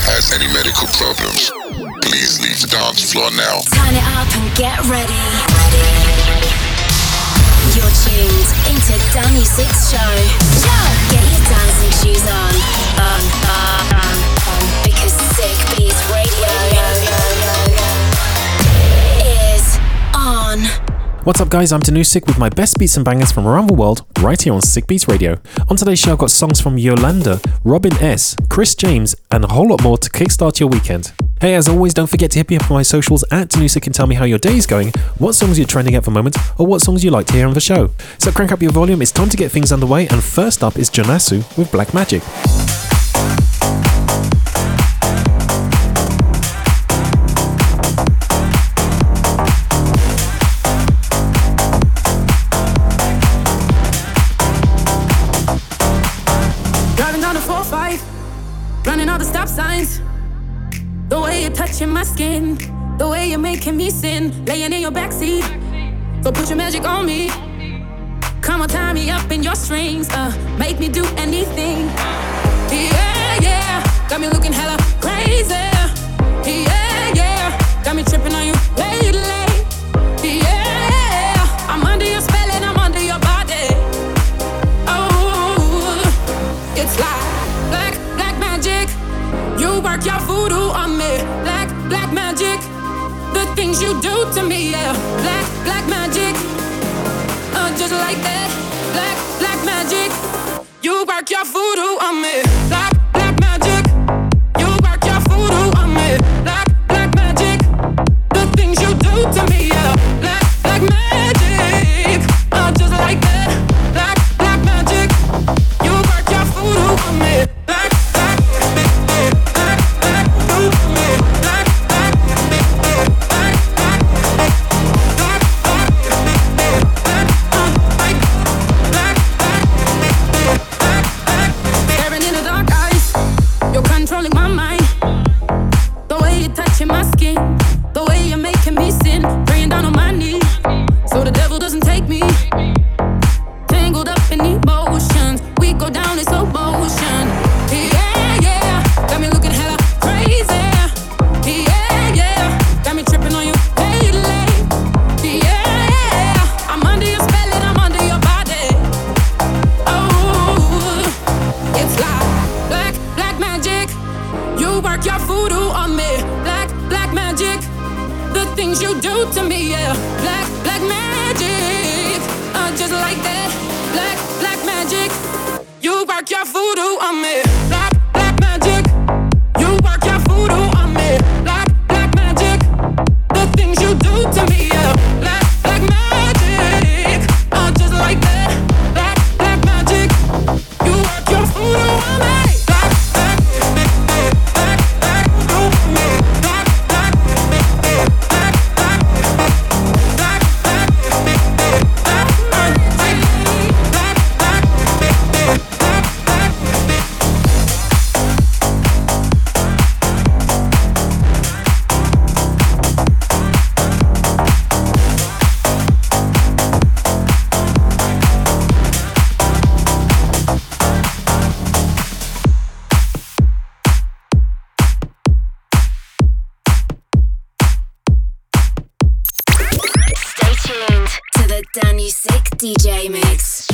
has any medical problems, please leave the dance floor now. Turn it up and get ready. You're tuned into Danny Six Show. Get your dancing shoes on. Because Sick Beats Radio is on. What's up guys, I'm Danusik with my best beats and bangers from around the world, right here on Sick Beats Radio. On today's show I've got songs from Yolanda, Robin S, Chris James and a whole lot more to kickstart your weekend. Hey, as always, don't forget to hit me up on my socials at Danusik and tell me how your day is going, what songs you're trending at the moment, or what songs you like to hear on the show. So crank up your volume, it's time to get things underway, and first up is Jonasu with Black Magic. Running all the stop signs. The way you're touching my skin, the way you're making me sin. Laying in your backseat, so put your magic on me. Come on, tie me up in your strings, make me do anything. Yeah, yeah, got me looking hella crazy. Yeah, yeah, got me tripping on you lately. Yeah, I'm under your spell and I'm under your body. Oh, it's like black magic. You work your voodoo on me. Black magic. The things you do to me, yeah. Black magic. Just like that. Black magic. You work your voodoo on me. Black magic. You work your voodoo on me. Black magic. The things you do to me, yeah. Black magic. Just like that. Black magic. You work your voodoo on me. DJ mix.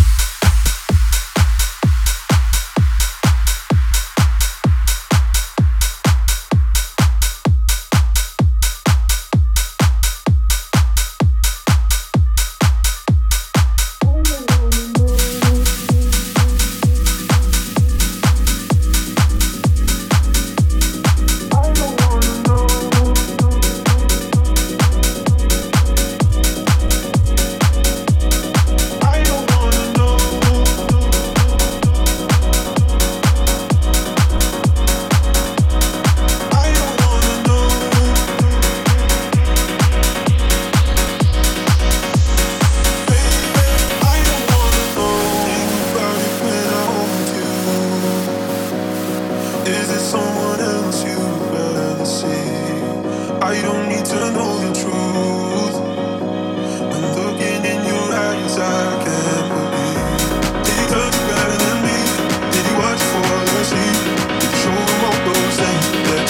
Show them all those things that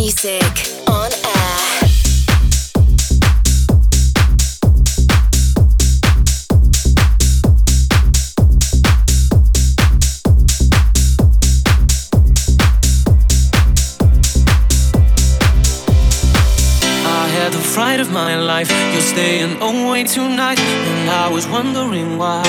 Sick on air. Fright of my life, you're staying away tonight, and I was wondering why.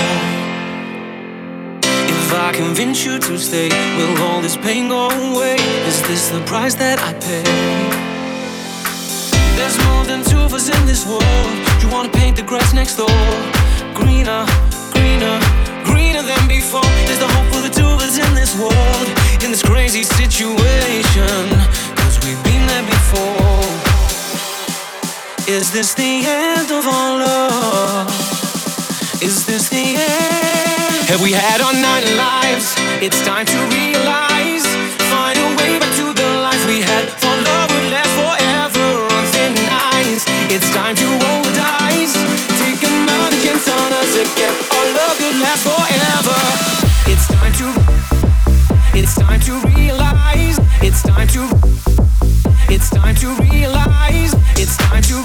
If I convince you to stay, will all this pain go away? Is this the price that I pay? There's more than two of us in this world. You wanna paint the grass next door greener, greener, greener than before. There's the hope for the two of us in this world, in this crazy situation, 'cause we've been there before. Is this the end of our love? Is this the end? Have we had our 9 lives? It's time to realize. Find a way back to the life we had. For love would last forever on thin ice. It's time to roll the dice. Take another chance on us again. Our love could last forever. It's time to realize. It's time to realize. It's time to realize. It's time to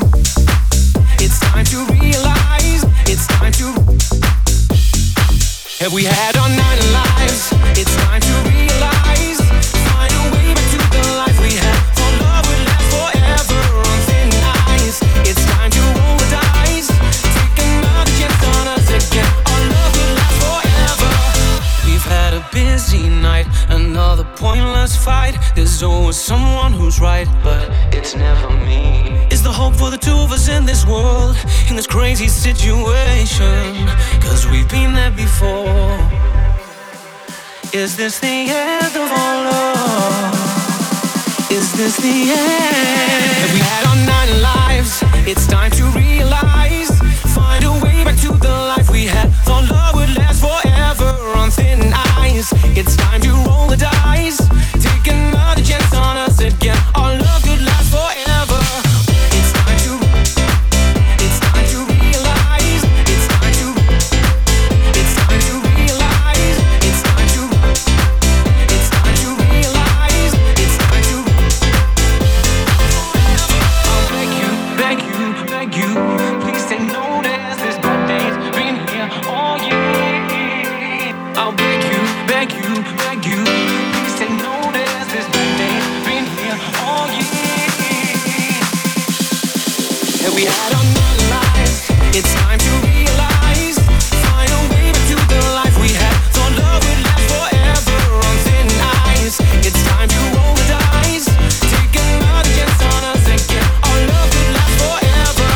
have we had our 9 lives? It's time to realize. Find a way back to the life we had. For love will last forever on thin ice. It's time to roll the dice. Take another chance on us again. Our love will last forever. We've had a busy night, another pointless fight. There's always someone who's right, but it's never me. Is the hope for the two of us in this world, in this crazy situation, 'cause we've been there before. Is this the end of our love? Is this the end? Have we had our 9 lives? It's time to realize. Find a way back to the life we had. For love would last forever on thin ice. It's time to roll the dice. Take another chance on us again. Our love could last forever. It's time to realize. It's time to realize. It's time to realize. It's time to. I'll beg you, please take notice. This bad day's been here all year. I'll beg you, please take notice. This bad day's been here all year. And we had our 9 lives. It's time to realize. Find a way back to the life we had. So love will last forever on thin ice. It's time to roll the dice. Take another chance on us again. Our love will last forever.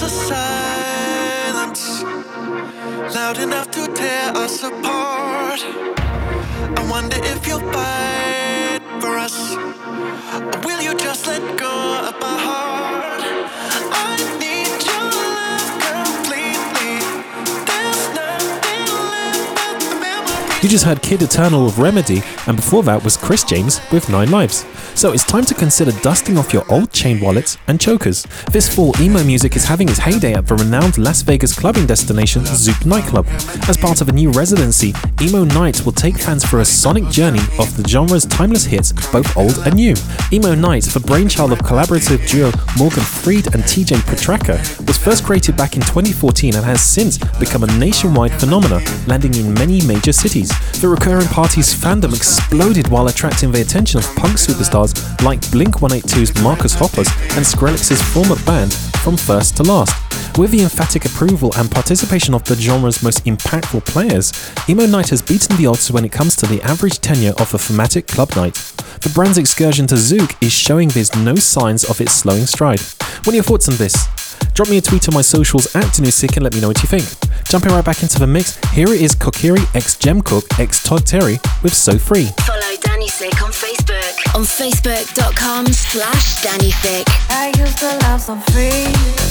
a silence loud enough to tear us apart. I wonder if you'll fight for us, or will you just let go of my heart? I need your love completely. There's nothing left but the memory. You just heard Kid Eternal with Remedy, and before that was Chris James with 9 Lives. So it's time to consider dusting off your old chain wallets and chokers. This fall, emo music is having its heyday at the renowned Las Vegas clubbing destination Zouk nightclub. As part of a new residency, Emo Night will take fans through a sonic journey of the genre's timeless hits, both old and new. Emo Night, the brainchild of collaborative duo Morgan Freed and TJ Petraka, was first created back in 2014 and has since become a nationwide phenomenon, landing in many major cities. The recurring party's fandom exploded while attracting the attention of punk superstars like Blink-182's Marcus Hoppers and Skrillex's former band From First to Last. With the emphatic approval and participation of the genre's most impactful players, Emo Night has beaten the odds when it comes to the average tenure of a thematic club night. The brand's excursion to Zouk is showing there's no signs of its slowing stride. What are your thoughts on this? Drop me a tweet on my socials @DanuSick and let me know what you think. Jumping right back into the mix, here it is Kokiri x Jemcook x Todd Terry with So Free. Follow Danny Thick on Facebook. On Facebook.com/Danny Thick. I used to love So Free.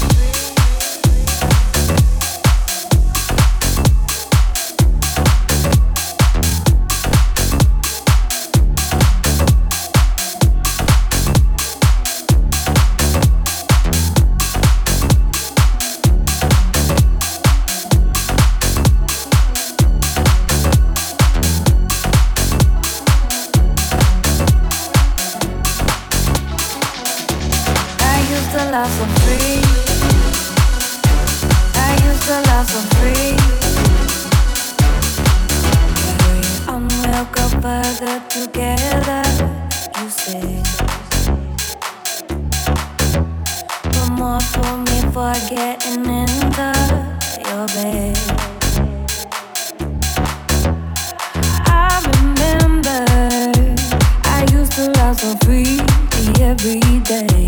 Love so free. I used to love so free. And we'll go further together, you said. But more for me for getting into your bed. I remember I used to love so free every day.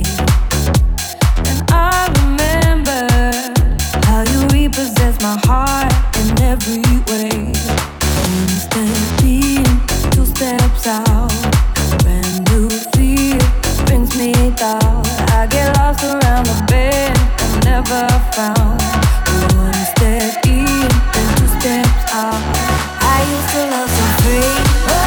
I remember how you repossess my heart in every way. Instead of being 2 steps out, brand new fear brings me down. I get lost around the bed and never found. 1 step in and 2 steps out. I used to love so free.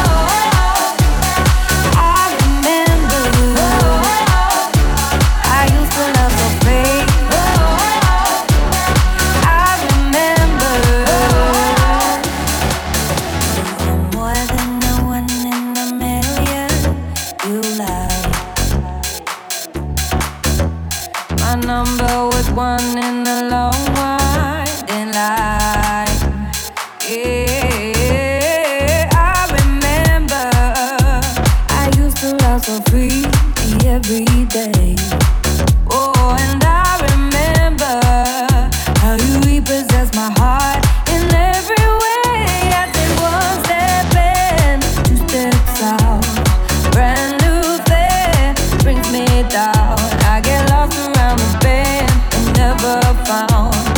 Number was 1 in the long winding line. Yeah, I remember I used to love so free every day. Oh, and I remember how you repossess my heart in every way. I take 1 step in, 2 steps out. Brand new thing brings me down. I get lost around the bend and never found.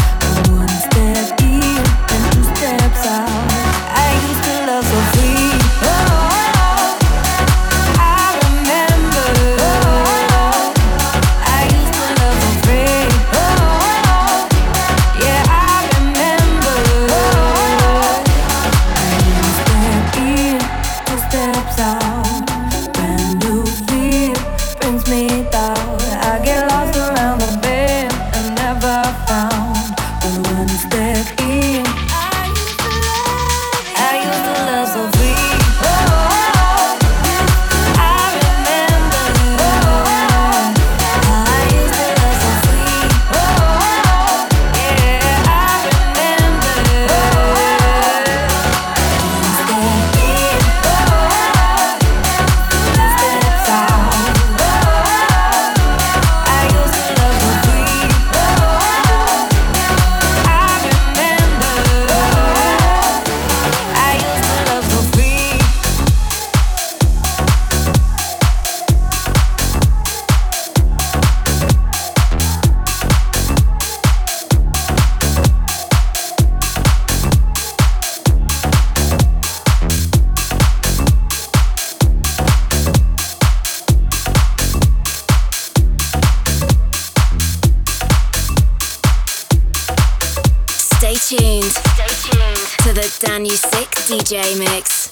tuned to the Dan Usick DJ mix.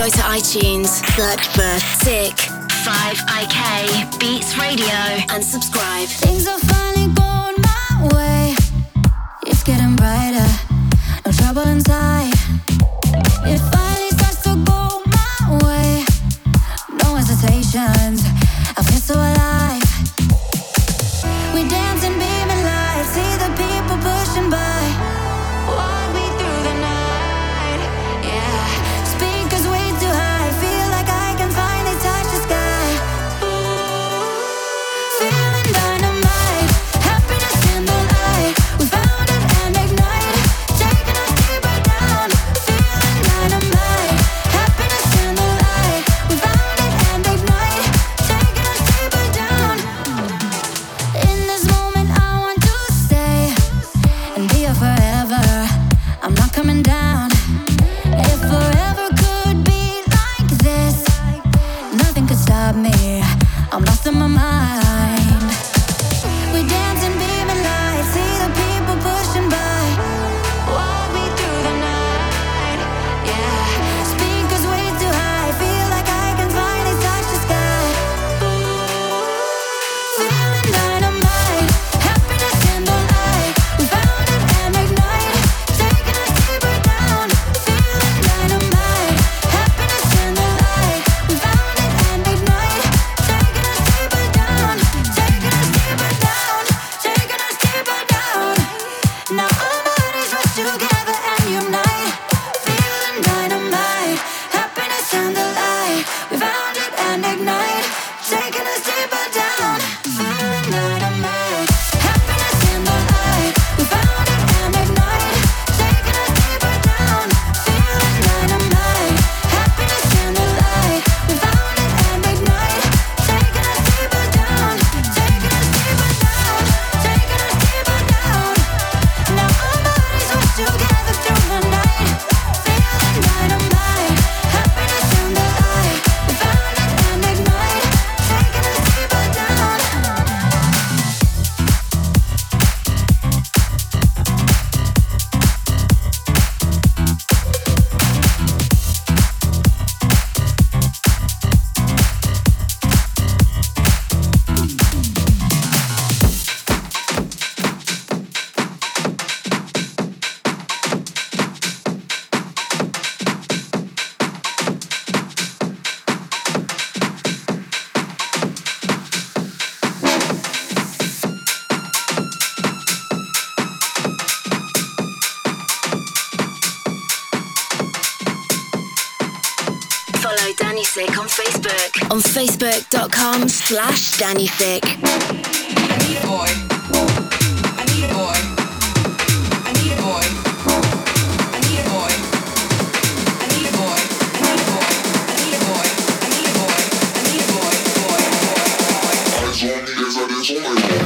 Go to iTunes, search for Sick 5IK Beats Radio and subscribe. Things are finally going my way. It's getting brighter, no trouble inside. It finally starts to go my way. No hesitations, I feel so alive. We dance and beam in light, see the people pushing by. Walk me through the night, yeah. Speakers way too high, feel like I can finally touch the sky. Feeling dynamite, happiness in the light. We found it and ignite, taking us deeper down. Feeling dynamite, happiness in the light. We found it and ignite, taking us deeper down. In this moment I want to stay and be here forever. I'm not coming down. If forever could be like this, nothing could stop me. I'm lost in my mind. We dance and beam in light, see the people pushing by. Walk me through the night, yeah. Speakers way too high, feel like I can finally touch the sky. Feeling dynamite, happiness in the light. We found it and ignite, taking us deeper down. Feeling dynamite, happiness in the light. We found it and ignite, taking us deeper down, taking us deeper down, taking us deeper down. Now our bodies rush together and unite. Feeling dynamite, happiness in the light. We found it and ignite, taking us deeper down. Feeling dynamite, happiness in the light. We found it and ignite, taking us deeper down. Feeling dynamite, happiness in the light. We found it and ignite, taking us deeper down, taking us deeper down, taking us deeper down. Now our bodies rush together through the night. Feeling dynamite, happiness in the light. We found it and ignite, taking us deeper down. Follow Danny Sick on Facebook. On Facebook.com/Danny Sick. I need a boy. I need a boy. I need a boy. I need a boy. I need a boy. I need a boy. I need a boy. I need a boy. I need a boy. Boy. Eyes on me as I dance on my own.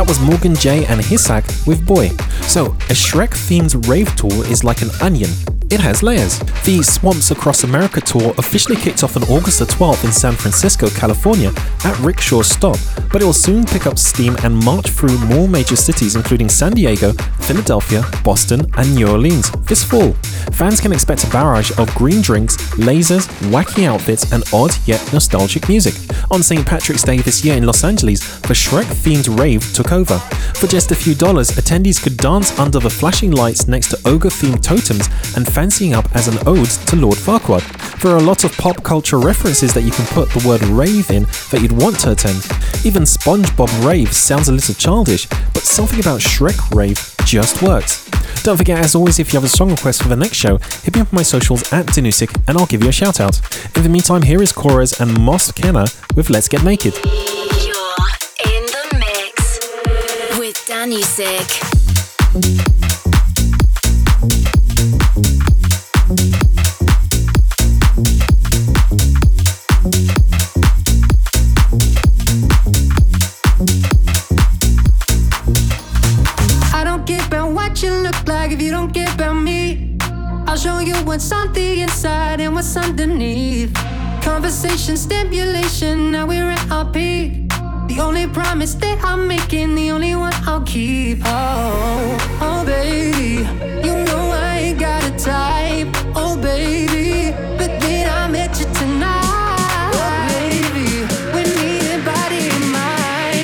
was Morgan J and Hisak with Boy. So, a Shrek-themed rave tour is like an onion. It has layers. The Swamps Across America tour officially kicked off on August the 12th in San Francisco, California at Rickshaw Stop, but it will soon pick up steam and march through more major cities including San Diego, Philadelphia, Boston and New Orleans this fall. Fans can expect a barrage of green drinks, lasers, wacky outfits and odd yet nostalgic music. On St. Patrick's Day this year in Los Angeles, the Shrek-themed rave took over. For just a few dollars, attendees could dance under the flashing lights next to ogre-themed totems and fancying up as an ode to Lord Farquaad. There are a lot of pop culture references that you can put the word rave in that you'd want to attend. Even SpongeBob Rave sounds a little childish, but something about Shrek Rave just works. Don't forget, as always, if you have a song request for the next show, hit me up on my socials at Danusik and I'll give you a shout out. In the meantime, here is Chorus and Moss Kenner with Let's Get Naked. You're in the mix with Danusik. If you don't care about me, I'll show you what's on the inside and what's underneath. Conversation, stimulation, now we're at our peak. The only promise that I'm making, the only one I'll keep. Oh baby, you know I ain't got a type. Oh baby, but then I met you tonight. Oh baby, we need a body and mind,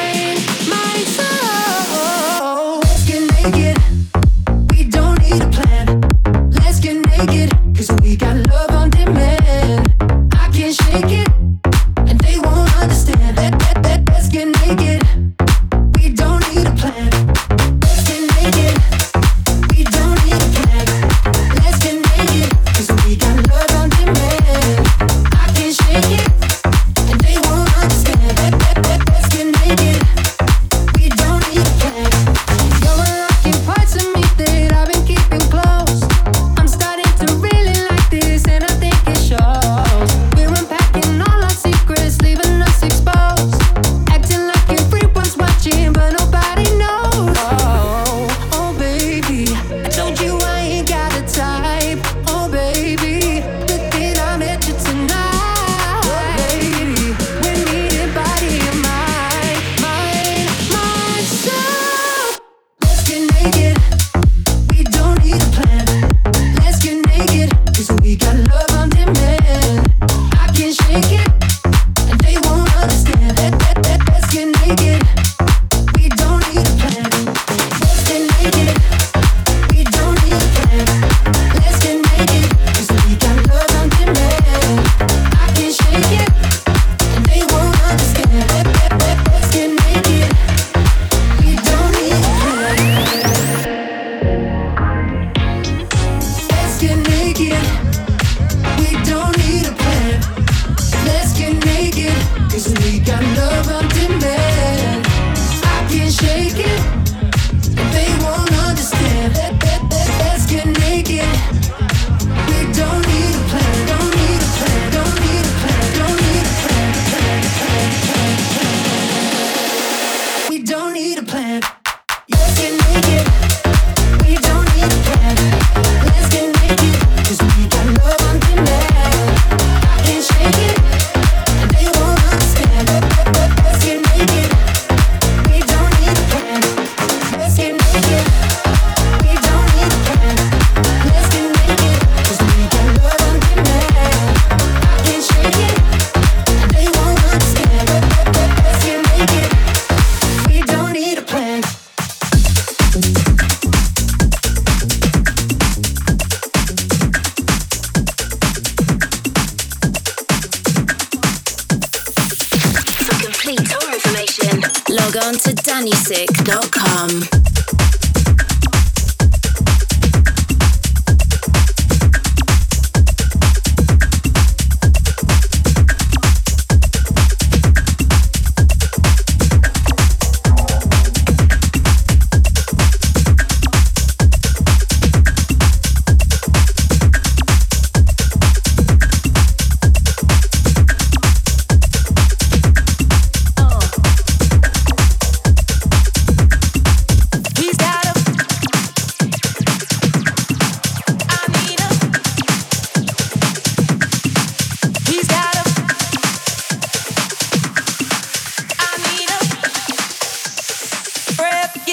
so let's get naked. Need a plan. Let's get naked, 'cause we got love on demand. I can't shake it, and they won't understand. Let's get naked. We don't need a plan. Let's get naked. We don't need a plan. Let's get naked, 'cause we got love on demand. I can't shake it, and they won't understand. Let's get naked. We don't need a plan. You're unlocking parts of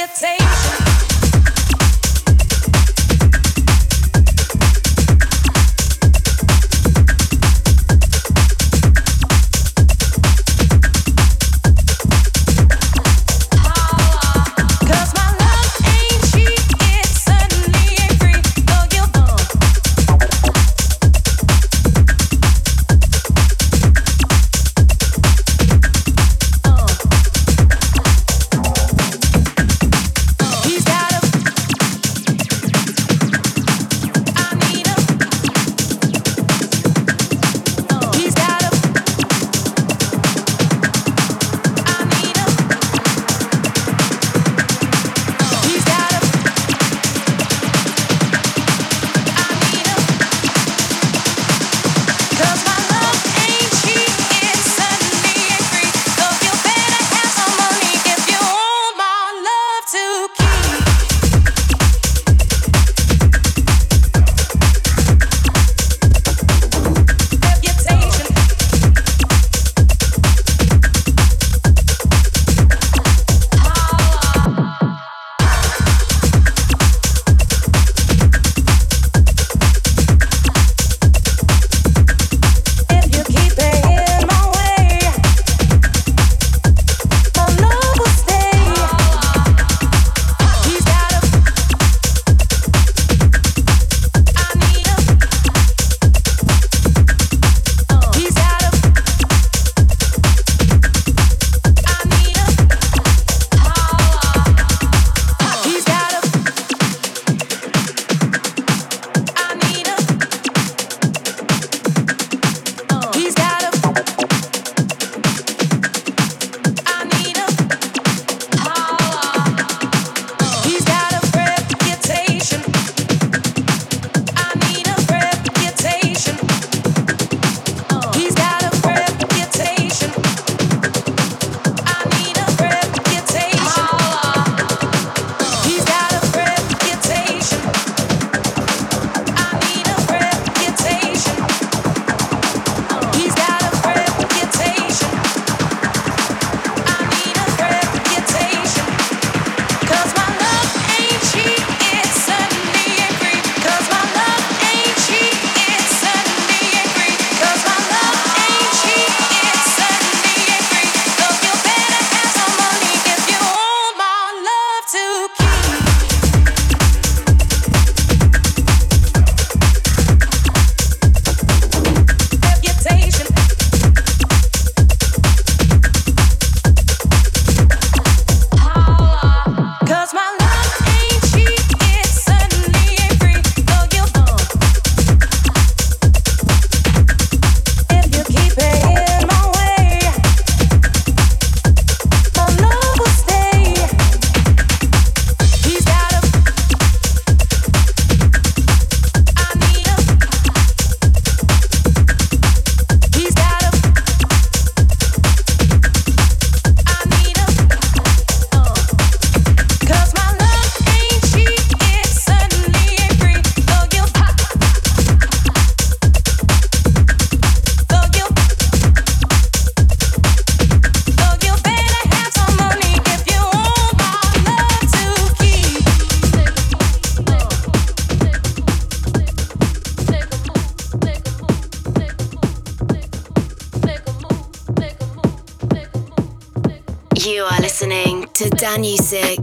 You are listening to Danusik.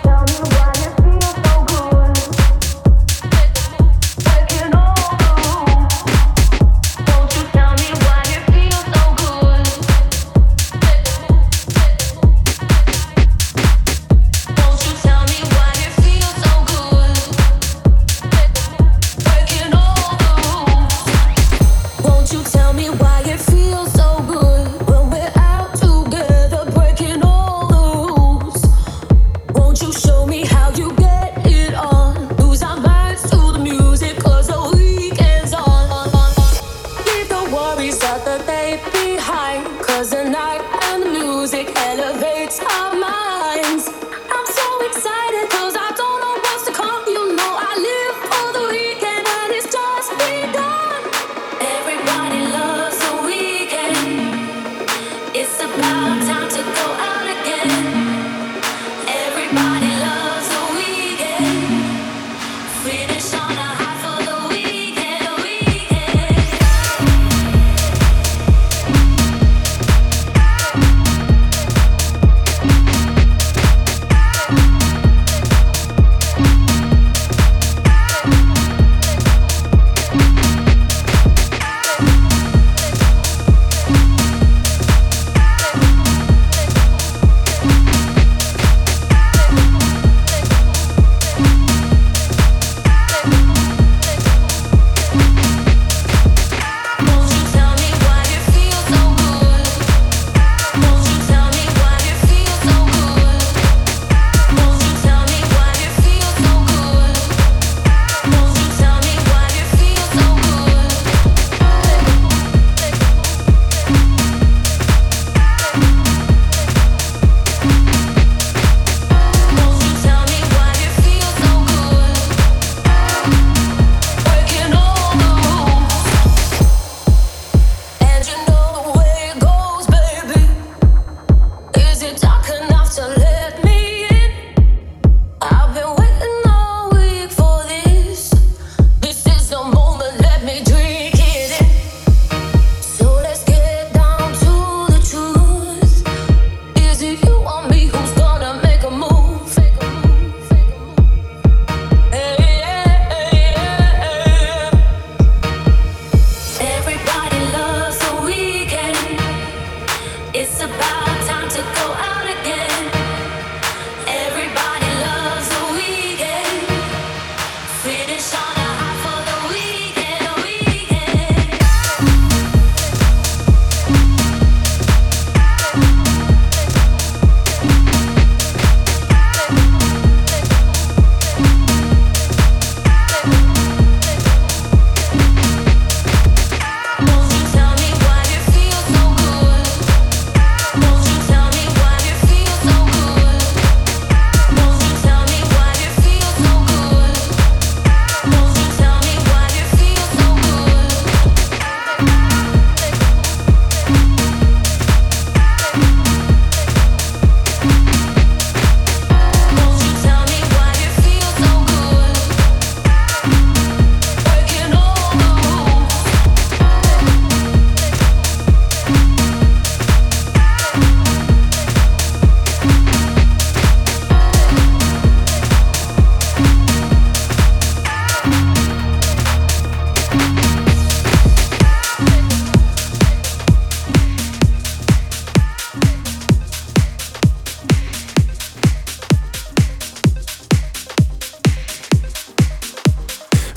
Taking all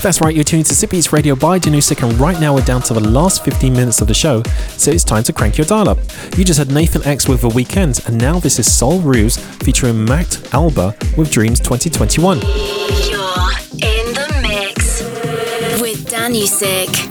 That's right, you're tuning to Sick Beats Radio by Danusik, and right now we're down to the last 15 minutes of the show, so it's time to crank your dial up. You just had Nathan X with The Weekend, and now this is Sol Ruse featuring Matt Alba with Dreams 2021. You're in the mix with Danusik.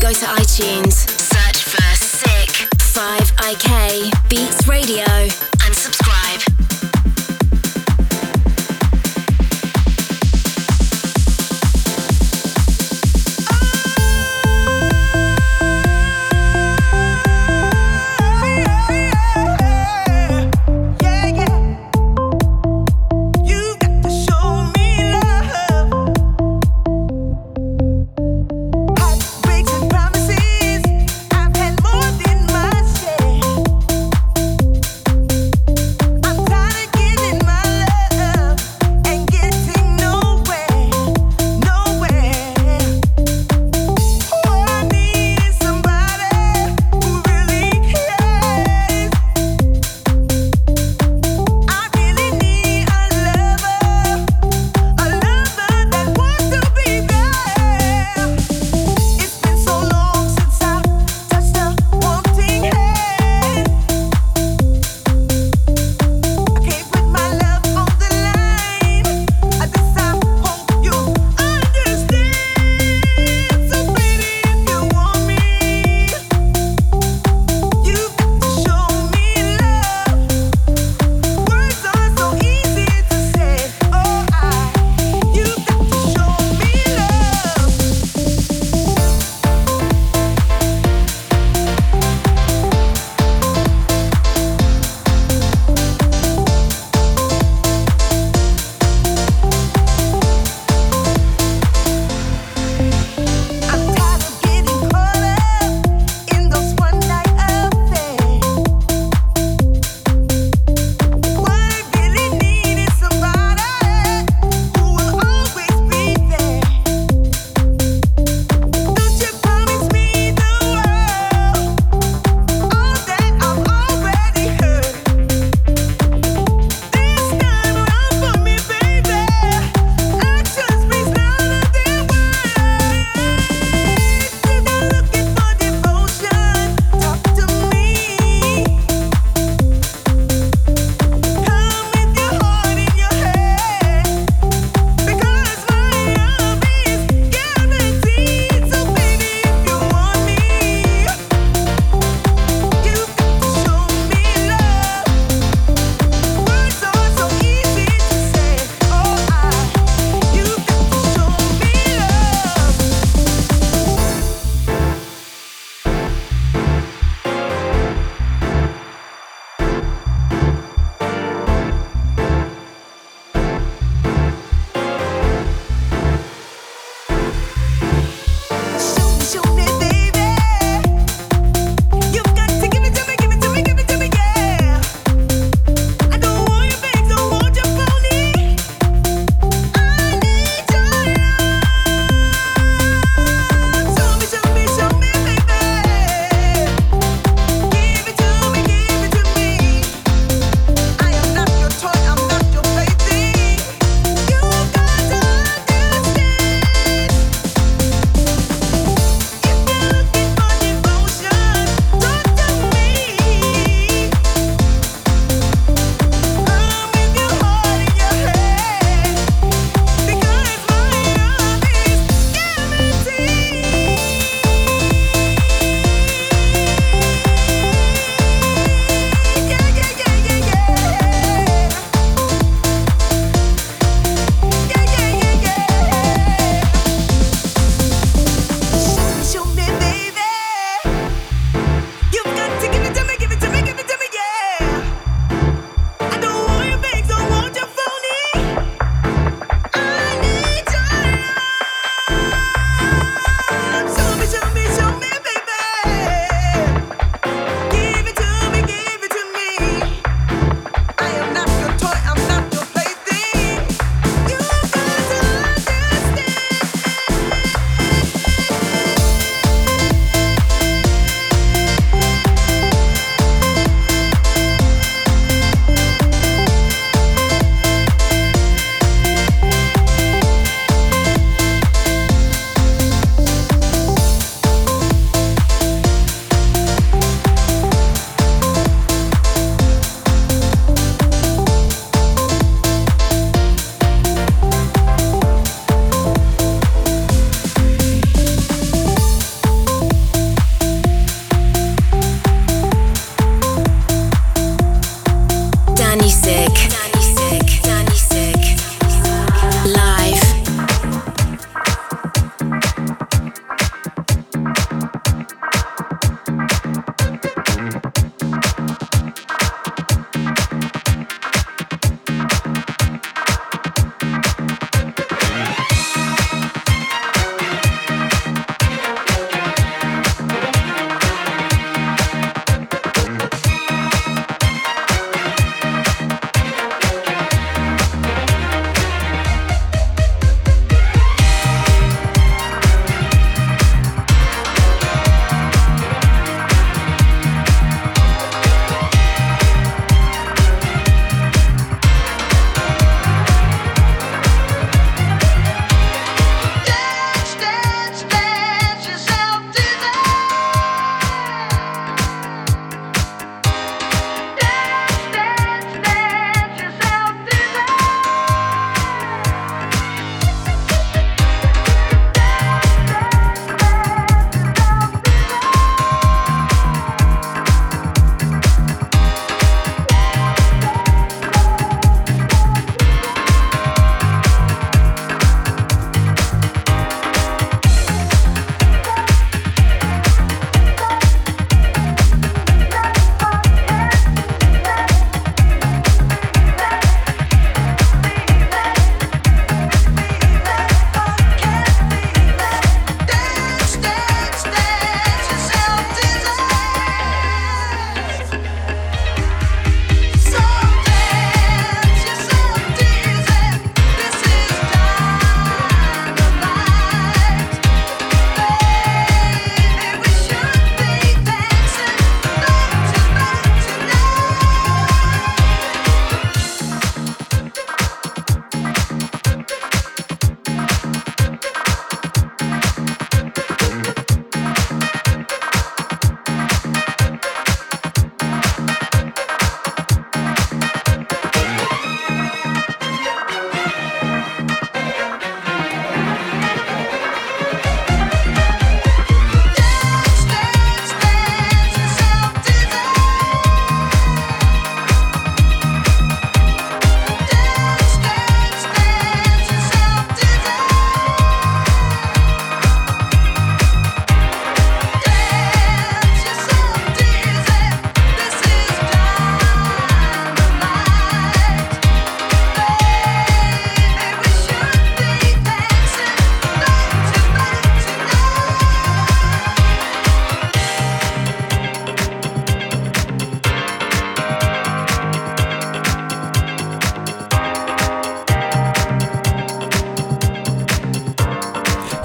Go to iTunes, search for Sick 5IK Beats Radio and subscribe. Promises, I've had more than my share.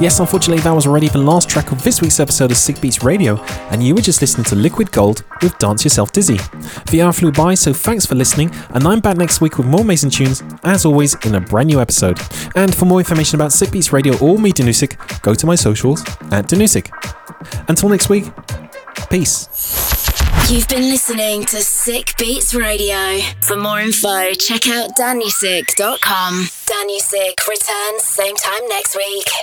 Yes, unfortunately, that was already the last track of this week's episode of Sick Beats Radio, and you were just listening to Liquid Gold with Dance Yourself Dizzy. The hour flew by, so thanks for listening, and I'm back next week with more amazing tunes, as always, in a brand new episode. And for more information about Sick Beats Radio or me, Danusik, go to my socials at Danusik. Until next week, peace. You've been listening to Sick Beats Radio. For more info, check out danusik.com. Danusik returns same time next week.